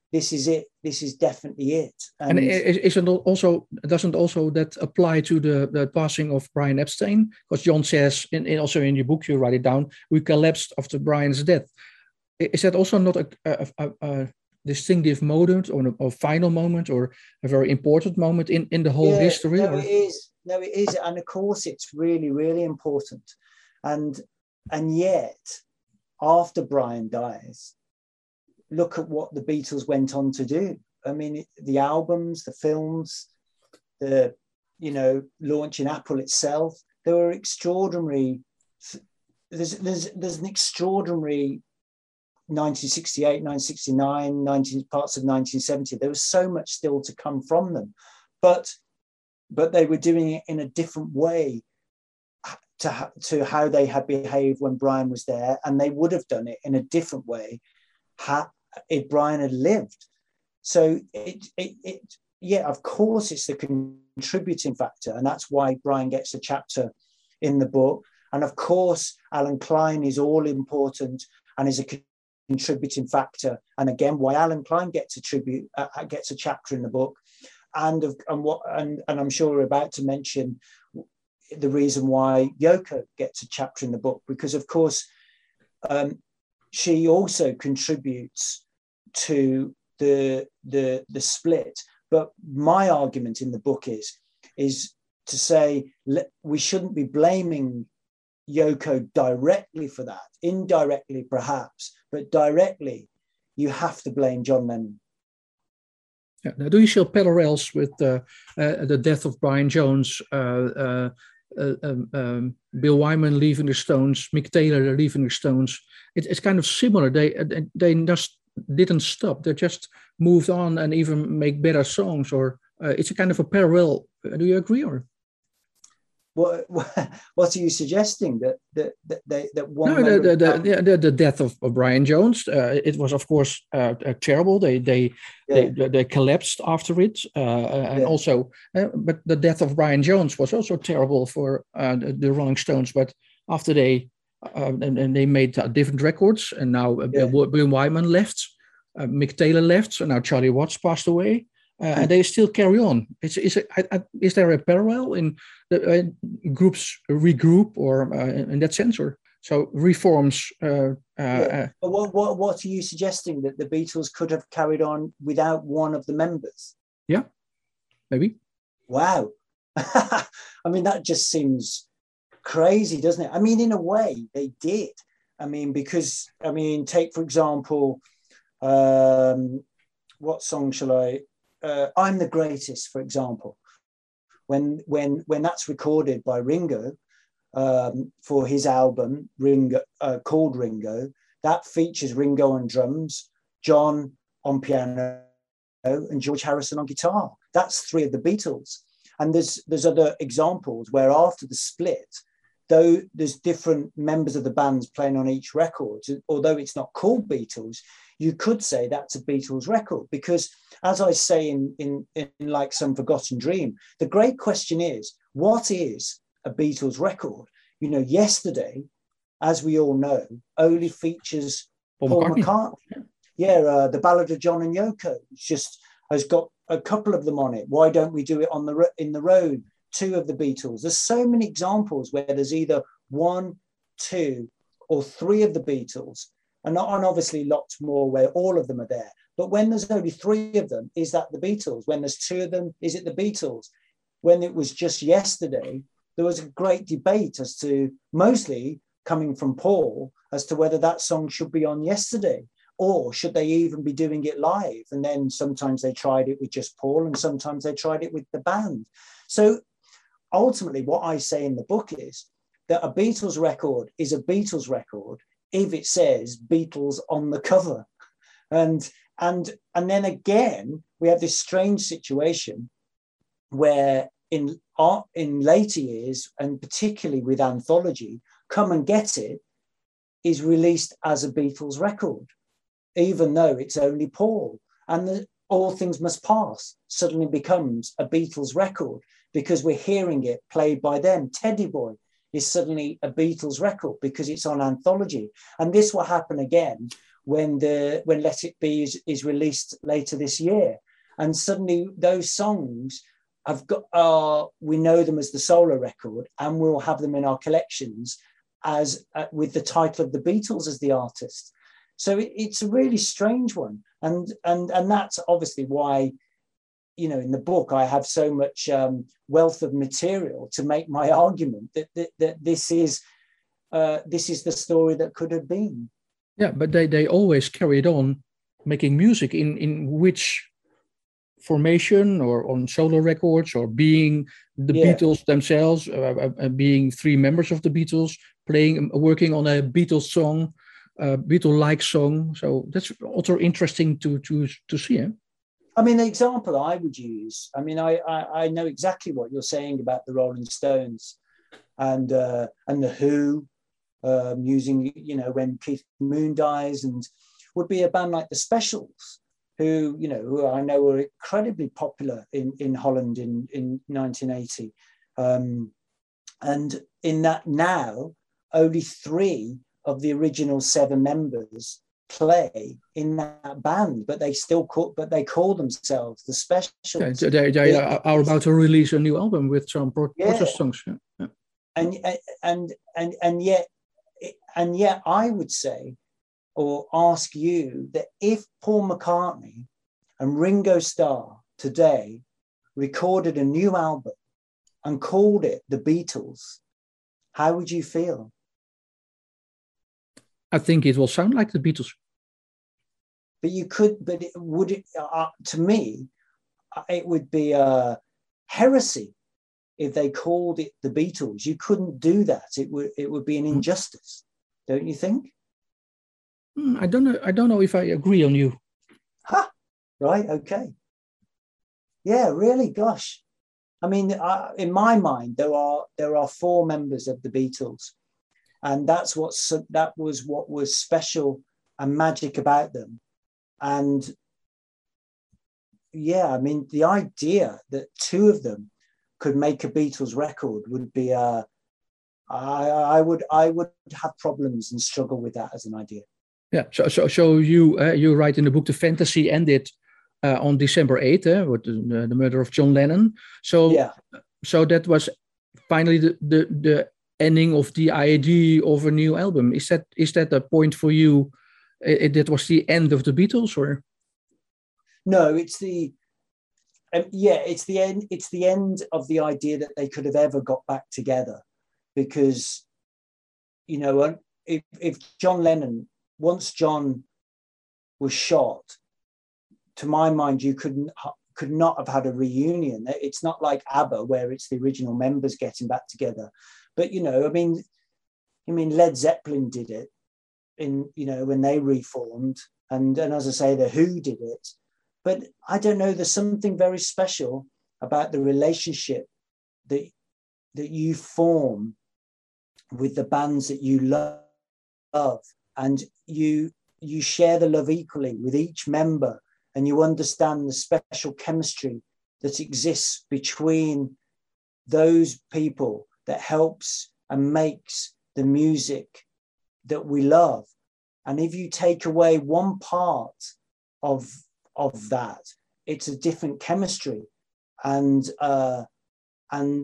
this is it. This is definitely it. And, and is, isn't also doesn't also that apply to the, the passing of Brian Epstein? Because John says, in, in also in your book, you write it down, we collapsed after Brian's death. Is that also not a, a, a, a distinctive moment or a, a final moment or a very important moment in, in the whole yeah, history? No, or? it is. No, it is. And of course, it's really, really important. And and yet, after Brian dies, look at what the Beatles went on to do. I mean, the albums, the films, the, you know, launching Apple itself, there were extraordinary, there's, there's, there's an extraordinary nineteen sixty-eight, nineteen sixty-nine, nineteen, parts of nineteen seventy. There was so much still to come from them, but, but they were doing it in a different way to, to how they had behaved when Brian was there. And they would have done it in a different way had, if Brian had lived. So it, it, it, yeah, of course, it's the contributing factor, and that's why Brian gets a chapter in the book. And of course, Alan Klein is all important and is a contributing factor. And again, why Alan Klein gets a tribute, uh, gets a chapter in the book, and of, and what, and, and I'm sure we're about to mention the reason why Yoko gets a chapter in the book, because of course, um, she also contributes to the, the, the split. But my argument in the book is, is to say we shouldn't be blaming Yoko directly for that, indirectly perhaps, but directly you have to blame John Lennon. Yeah. Now, do you show parallels with uh, uh, the death of Brian Jones, uh, uh, uh, um, um, Bill Wyman leaving the Stones, Mick Taylor leaving the Stones? It, it's kind of similar. They they just didn't stop. They just moved on and even make better songs. Or uh, it's a kind of a parallel. Do you agree? Or what what are you suggesting, that that that, they, that one? No, the the, the the the death of, of Brian Jones. Uh, it was of course uh, uh, terrible. They they, yeah. they they collapsed after it, uh, and yeah. also, uh, but the death of Brian Jones was also terrible for uh, the, the Rolling Stones. But after they uh, and, and they made uh, different records, and now uh, yeah. Bill Wyman left, uh, Mick Taylor left, so now Charlie Watts passed away. Uh, and they still carry on. Is is is there a parallel in the uh, groups regroup, or uh, in that sense, or so reforms? Uh, uh, yeah. But what what what are you suggesting, that the Beatles could have carried on without one of the members? Yeah, maybe. Wow, I mean that just seems crazy, doesn't it? I mean, in a way, they did. I mean, because I mean, take for example, um, what song shall I? Uh, I'm the Greatest, for example, when when when that's recorded by Ringo um, for his album Ringo uh, called Ringo, that features Ringo on drums, John on piano, and George Harrison on guitar. That's three of the Beatles. And there's there's other examples where after the split, though there's different members of the bands playing on each record, although it's not called Beatles, you could say that's a Beatles record, because as I say in, in, in Like Some Forgotten Dream, the great question is, what is a Beatles record? You know, Yesterday, as we all know, only features Paul, Paul McCartney. McCartney. Yeah, uh, the Ballad of John and Yoko. It's just has got a couple of them on it. Why don't we do it on the in the road? Two of the Beatles. There's so many examples where there's either one, two, or three of the Beatles, and, and obviously lots more where all of them are there. But when there's only three of them, is that the Beatles? When there's two of them, is it the Beatles? When it was just Yesterday, there was a great debate as to, mostly coming from Paul, as to whether that song should be on Yesterday, or should they even be doing it live? And then sometimes they tried it with just Paul, and sometimes they tried it with the band. So ultimately, what I say in the book is that a Beatles record is a Beatles record if it says Beatles on the cover. And, and, and then again, we have this strange situation where in, art, in later years, and particularly with Anthology, Come and Get It is released as a Beatles record, even though it's only Paul. And the, All Things Must Pass suddenly becomes a Beatles record because we're hearing it played by them. Teddy Boy is suddenly a Beatles record because it's on Anthology. And this will happen again when the when Let It Be is, is released later this year. And suddenly those songs have got uh, we know them as the solo record, and we'll have them in our collections as uh, with the title of the Beatles as the artist. So it, it's a really strange one, and and and that's obviously why, you know, in the book I have so much um, wealth of material to make my argument that that, that this is uh, this is the story that could have been. Yeah, but they they always carried on making music in in which formation, or on solo records, or being the Yeah. Beatles themselves, uh, uh, being three members of the Beatles, playing, working on a Beatles song, uh, Beatle-like song. So that's also interesting to to to see. Eh? I mean, the example I would use, I mean, I, I, I know exactly what you're saying about the Rolling Stones and uh, and the Who, um, using, you know, when Keith Moon dies, and would be a band like the Specials, who, you know, who I know were incredibly popular in, in Holland in, in nineteen eighty. Um, and in that now, only three of the original seven members play in that band, but they still call, but they call themselves the Specials. Yeah, they, they are, are about to release a new album with some pro- yeah. protest songs. Yeah. Yeah. And, and, and, and yet, and yet I would say, or ask you, that if Paul McCartney and Ringo Starr today recorded a new album and called it The Beatles, how would you feel? I think it will sound like the Beatles. But you could, but it, would it, uh, to me, it would be a heresy if they called it the Beatles. You couldn't do that. It would, it would be an injustice, mm. don't you think? I don't know. I don't know if I agree on you. Huh? Right. Okay. Yeah. Really. Gosh. I mean, I, in my mind, there are there are four members of the Beatles, and that's what that was what was special and magic about them. And yeah, I mean, the idea that two of them could make a Beatles record would be uh, I, I would I would have problems and struggle with that as an idea. Yeah, so so so you uh, you write in the book the fantasy ended uh, on December eighth, uh, with the, the murder of John Lennon. So yeah, so that was finally the, the the ending of the idea of a new album. Is that is that a point for you? It, that was the end of the Beatles, or no? It's the um, yeah, it's the end. It's the end of the idea that they could have ever got back together, because you know, if if John Lennon. Once John was shot, to my mind, you couldn't could not have had a reunion. It's not like ABBA, where it's the original members getting back together. But you know, I mean, I mean, Led Zeppelin did it in, you know, when they reformed, and and as I say, the Who did it. But I don't know. There's something very special about the relationship that that you form with the bands that you love. And you you share the love equally with each member, and you understand the special chemistry that exists between those people that helps and makes the music that we love. And if you take away one part of of that, it's a different chemistry, and uh, and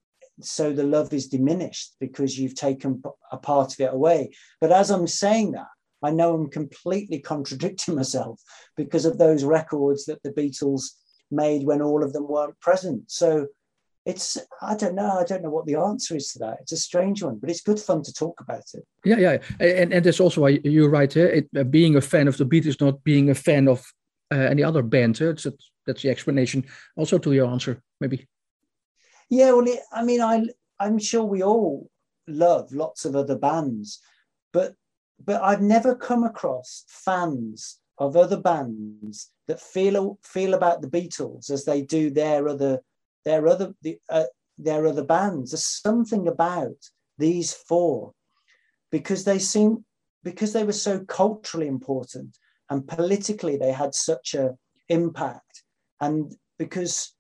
so the love is diminished because you've taken a part of it away. But as I'm saying that, I know I'm completely contradicting myself because of those records that the Beatles made when all of them weren't present. So it's, I don't know, I don't know what the answer is to that. It's a strange one, but it's good fun to talk about it. Yeah, yeah. And, and that's also why you're right here. It, uh, being a fan of the Beatles, not being a fan of uh, any other band. Uh, that's, that's the explanation also to your answer, maybe. Yeah, well, it, I mean, I, I'm sure we all love lots of other bands, but but I've never come across fans of other bands that feel feel about the Beatles as they do their other their other the, uh, their other bands. There's something about these four, because they seem because they were so culturally important and politically they had such a impact, and because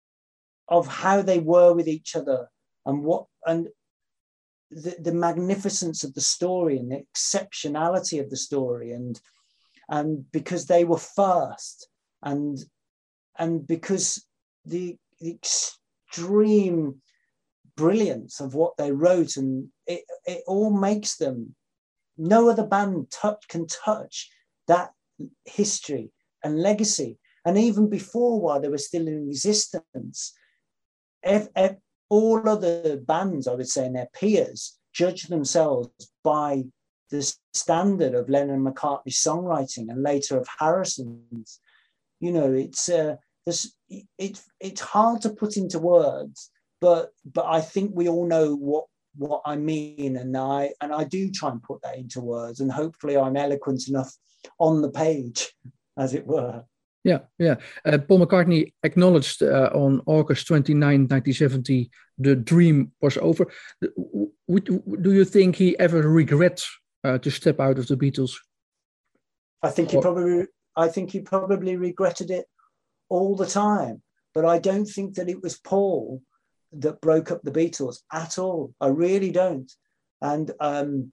of how they were with each other, and what and the, the magnificence of the story and the exceptionality of the story, and and because they were first, and and because the, the extreme brilliance of what they wrote, and it, it all makes them, no other band touch can touch that history and legacy. And even before, while they were still in existence, if, if all other bands, I would say, and their peers judged themselves by the standard of Lennon and McCartney's songwriting, and later of Harrison's. You know, it's uh, this, it, it's hard to put into words, but but I think we all know what what I mean, and I and I do try and put that into words, and hopefully I'm eloquent enough on the page, as it were. Yeah, yeah. Uh, Paul McCartney acknowledged uh, on August twenty-ninth, nineteen seventy, the dream was over. Would, do you think he ever regrets uh, to step out of the Beatles? I think he probably, I think he probably regretted it all the time. But I don't think that it was Paul that broke up the Beatles at all. I really don't. And um,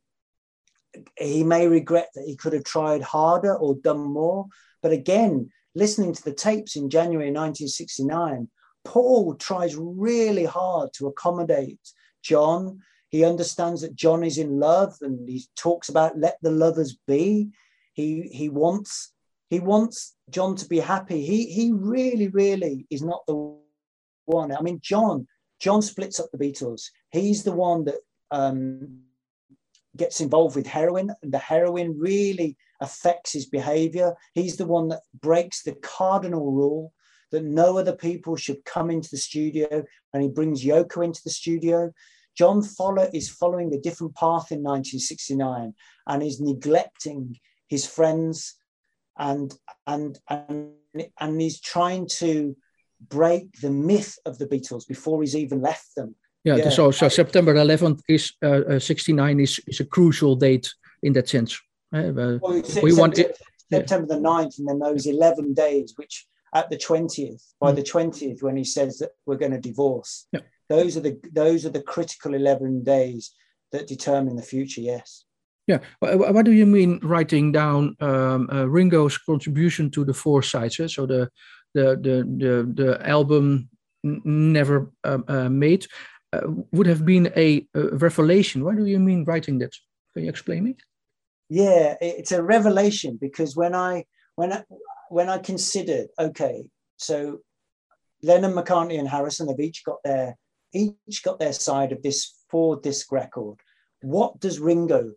he may regret that he could have tried harder or done more. But again, listening to the tapes in January nineteen sixty-nine, Paul tries really hard to accommodate John. He understands that John is in love, and he talks about let the lovers be. He he wants he wants John to be happy. He he really really is not the one. I mean, John John splits up the Beatles. He's the one that um, gets involved with heroin, and the heroin really affects his behavior. He's the one that breaks the cardinal rule that no other people should come into the studio, and he brings Yoko into the studio. John follow, is following a different path in nineteen sixty-nine, and is neglecting his friends, and, and, and, and he's trying to break the myth of the Beatles before he's even left them. Yeah, yeah. So, so September eleventh is uh, uh, sixty-nine is, is a crucial date in that sense. Uh, well, we September, want it, September yeah. the ninth, and then those eleven days, which at the twentieth, by mm. the twentieth, when he says that we're going to divorce, yeah. those are the those are the critical eleven days that determine the future. Yes. Yeah. What do you mean writing down um, uh, Ringo's contribution to the four sides? Eh? So the the the the, the album never uh, uh, made uh, would have been a, a revelation. What do you mean writing that? Can you explain me? Yeah, it's a revelation, because when I when I when I considered, okay, so Lennon, McCartney, and Harrison have each got their each got their side of this four disc record. What does Ringo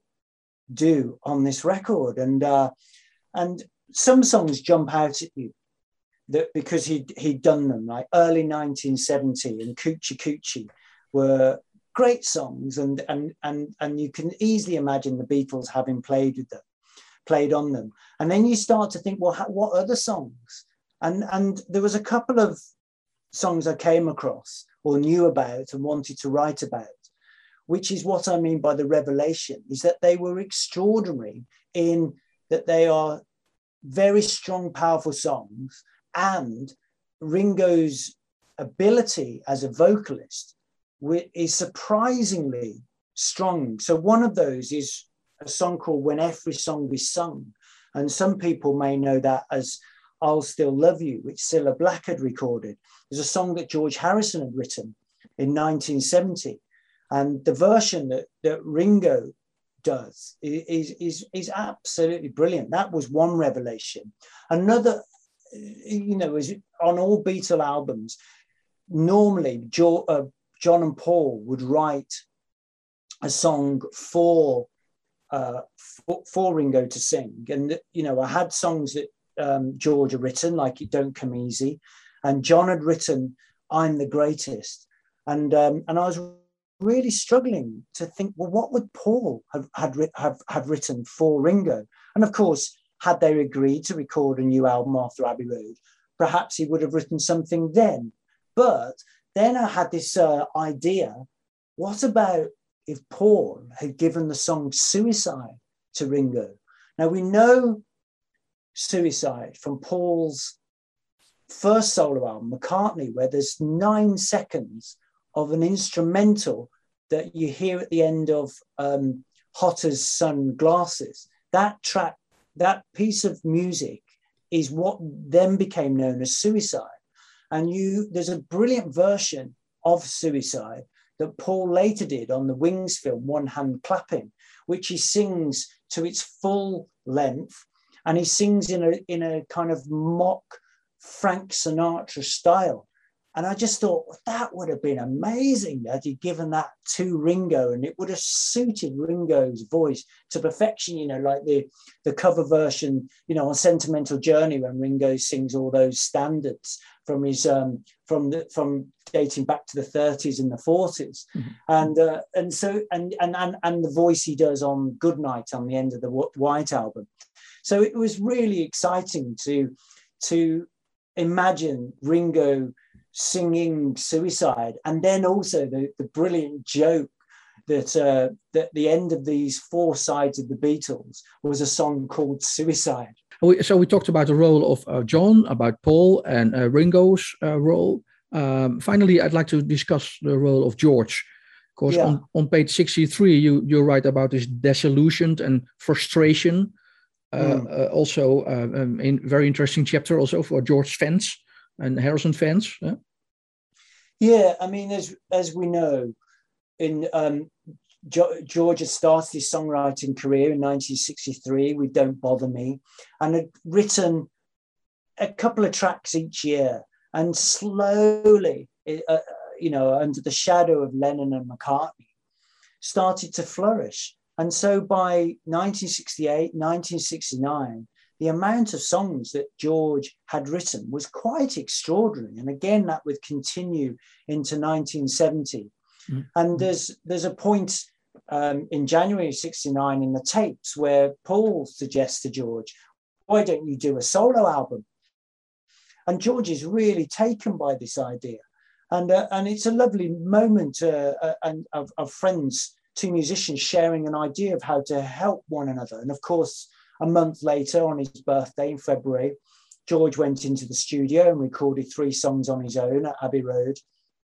do on this record? And uh, and some songs jump out at you that because he he'd done them, like early nineteen seventy and Coochie Coochie were great songs, and and and and you can easily imagine the Beatles having played with them, played on them. And then you start to think, well, how, what other songs? And and there was a couple of songs I came across or knew about and wanted to write about, which is what I mean by the revelation, is that they were extraordinary in that they are very strong, powerful songs, and Ringo's ability as a vocalist is surprisingly strong. So one of those is a song called When Every Song Is Sung. And some people may know that as I'll Still Love You, which Cilla Black had recorded. It's a song that George Harrison had written in nineteen seventy. And the version that, that Ringo does is, is, is absolutely brilliant. That was one revelation. Another, you know, is on all Beatle albums, normally jo- uh, John and Paul would write a song for, uh, for for Ringo to sing. And, you know, I had songs that um, George had written, like It Don't Come Easy, and John had written I'm the Greatest. And um, and I was really struggling to think, well, what would Paul have, had, have, have written for Ringo? And of course, had they agreed to record a new album after Abbey Road, perhaps he would have written something then. But then I had this uh, idea, what about if Paul had given the song Suicide to Ringo? Now we know Suicide from Paul's first solo album, McCartney, where there's nine seconds of an instrumental that you hear at the end of um, Hot as Sun Glasses. That track that piece of music is what then became known as Suicide. And you, there's a brilliant version of Suicide that Paul later did on the Wings film, One Hand Clapping, which he sings to its full length. And he sings in a, in a kind of mock Frank Sinatra style. And I just thought, well, that would have been amazing had he given that to Ringo, and it would have suited Ringo's voice to perfection, you know, like the, the cover version, you know, on Sentimental Journey, when Ringo sings all those standards from his, um, from the, from dating back to the thirties and the forties. Mm-hmm. And, uh, and so, and, and, and, and the voice he does on Goodnight on the end of the White Album. So it was really exciting to, to imagine Ringo singing Suicide, and then also the, the brilliant joke that uh, that the end of these four sides of the Beatles was a song called Suicide. So we talked about the role of uh, John, about Paul, and uh, Ringo's uh, role. Um, finally, I'd like to discuss the role of George. Of course, yeah. on, on page sixty-three, you, you write about his disillusion and frustration. Uh, mm. uh, also, uh, um, in very interesting chapter also for George fans and Harrison fans. Yeah, yeah I mean, as as we know, in um, jo- George had started his songwriting career in nineteen sixty-three with Don't Bother Me, and had written a couple of tracks each year, and slowly, uh, you know, under the shadow of Lennon and McCartney, started to flourish. And so by nineteen sixty-eight, nineteen sixty-nine, the amount of songs that George had written was quite extraordinary. And again, that would continue into nineteen seventy. Mm-hmm. And there's there's a point um, in January sixty-nine in the tapes where Paul suggests to George, why don't you do a solo album? And George is really taken by this idea. And, uh, and it's a lovely moment uh, uh, and of, of friends, two musicians sharing an idea of how to help one another. And of course, a month later, on his birthday in February, George went into the studio and recorded three songs on his own at Abbey Road.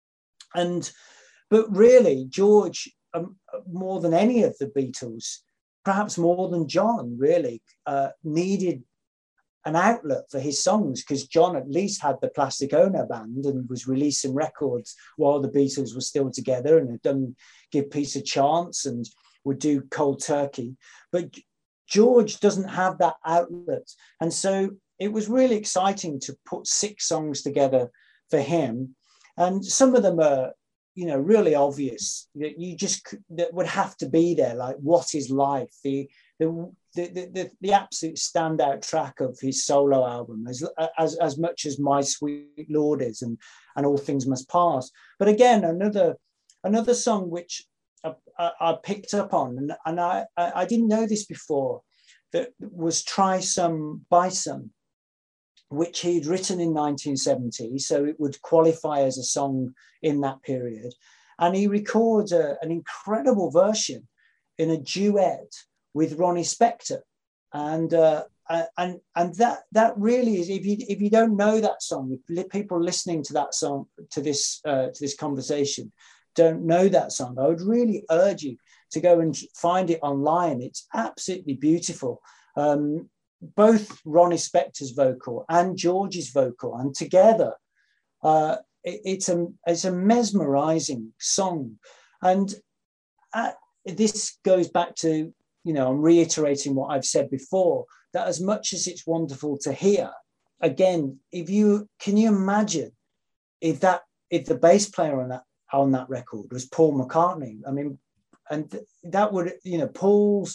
And, but really, George, um, more than any of the Beatles, perhaps more than John, really, uh, needed an outlet for his songs, because John at least had the Plastic Ono Band and was releasing records while the Beatles were still together, and had done Give Peace a Chance and would do Cold Turkey. But George doesn't have that outlet. And so it was really exciting to put six songs together for him. And some of them are, you know, really obvious that you just that would have to be there, like What Is Life, the the the the, the absolute standout track of his solo album, as, as as much as My Sweet Lord is, and and All Things Must Pass. But again, another another song which I, I, I picked up on, and, and I, I didn't know this before, that was Try Some, Buy Some, which he'd written in nineteen seventy, so it would qualify as a song in that period. And he records a, an incredible version in a duet with Ronnie Spector. And uh, and and that that really is, if you if you don't know that song, if people listening to that song, to this uh, to this conversation, don't know that song, I would really urge you to go and find it online. It's absolutely beautiful. Um, both Ronnie Spector's vocal and George's vocal, and together, uh, it, it's a it's a mesmerizing song. And uh, this goes back to, you know, I'm reiterating what I've said before, that as much as it's wonderful to hear, again, if you can you imagine if that if the bass player on that on that record was Paul McCartney? I mean, and that would, you know, Paul's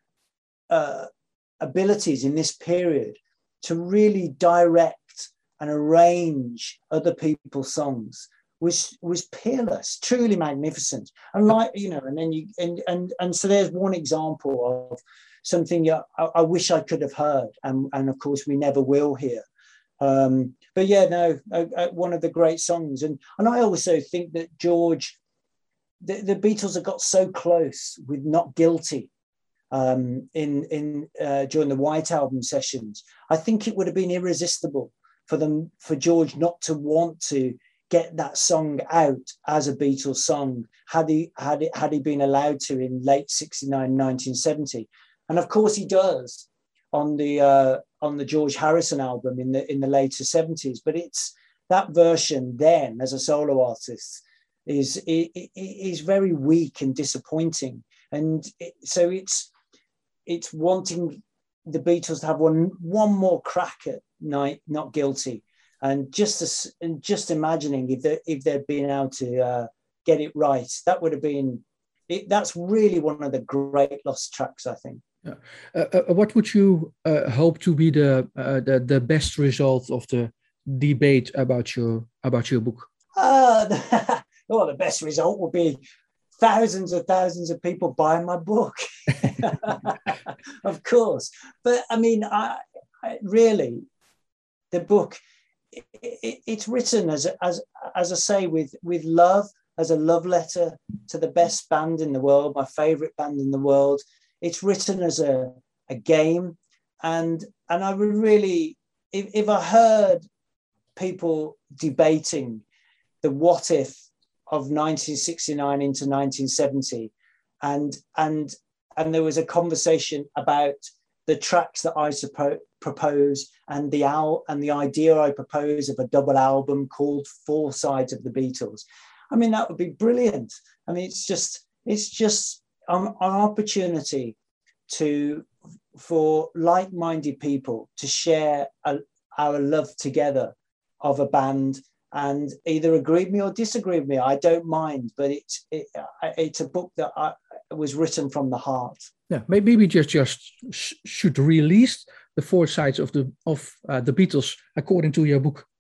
uh, abilities in this period to really direct and arrange other people's songs was was peerless, truly magnificent. And like, you know, and then you and and and so there's one example of something I, I wish I could have heard, and and of course we never will hear. Um, but yeah, no, uh, uh, one of the great songs. And and I also think that George, the, the Beatles have got so close with Not Guilty um, in in uh, during the White Album sessions. I think it would have been irresistible for them, for George not to want to get that song out as a Beatles song had he had it had he been allowed to in late sixty-nine, nineteen seventy. And of course he does. on the uh, on the George Harrison album in the in the later seventies. But it's that version then as a solo artist is it, it, is very weak and disappointing, and it, so it's it's wanting the Beatles to have one one more crack at Night Not Guilty, and just as, and just imagining if they if they'd been able to uh, get it right, that would have been it, that's really one of the great lost tracks, I think. Yeah. Uh, uh, what would you uh, hope to be the, uh, the the best result of the debate about your about your book? Uh, the, well, the best result will be thousands and thousands of people buying my book, of course. But I mean, I, I really, the book, it, it, it's written as as as I say with with love, as a love letter to the best band in the world, my favorite band in the world. It's written as a, a game, and and I would really, if, if I heard people debating the what if of nineteen sixty-nine into nineteen seventy, and and and there was a conversation about the tracks that I suppo- propose and the al- and the idea I propose of a double album called Four Sides of the Beatles. I mean, that would be brilliant. I mean, it's just it's just um, an opportunity to for like-minded people to share a, our love together of a band, and either agree with me or disagree with me. I don't mind, but it's it, it's a book that I, was written from the heart. Yeah, maybe we just just sh- should release the four sides of the of uh, the Beatles according to your book.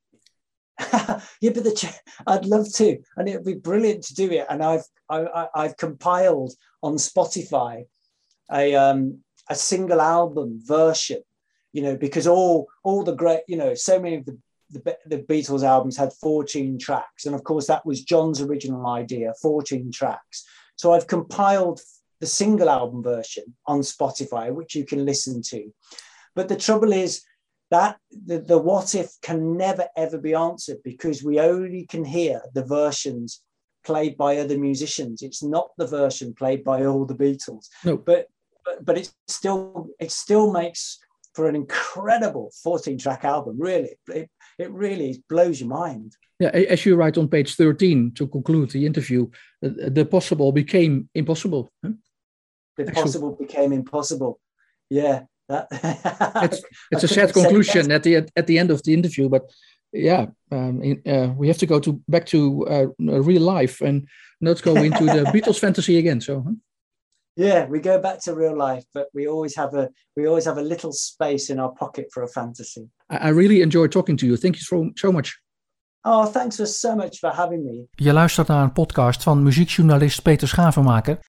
Yeah, but the, I'd love to, and it'd be brilliant to do it. And I've I, I've compiled on Spotify a um a single album version, you know, because all all the great, you know, so many of the the, the Beatles albums had fourteen tracks, and of course that was John's original idea, fourteen tracks. So I've compiled the single album version on Spotify, which you can listen to. But the trouble is that the, the what if can never ever be answered, because we only can hear the versions played by other musicians. It's not the version played by all the Beatles. No. But but, but it still it still makes for an incredible fourteen track album. Really, it, it really blows your mind. Yeah, as you write on page thirteen to conclude the interview, uh, the possible became impossible. Huh? The possible became impossible. Yeah, that. it's it's a sad conclusion at the at the end of the interview, but yeah, um, in, uh, we have to go to back to uh, real life and not go into the Beatles fantasy again. So. Huh? Yeah, we go back to real life, but we always have a we always have a little space in our pocket for a fantasy. I, I really enjoyed talking to you. Thank you so, so much. Oh, thanks for so much for having me. Je luistert naar een podcast van muziekjournalist Peter Schavenmaker.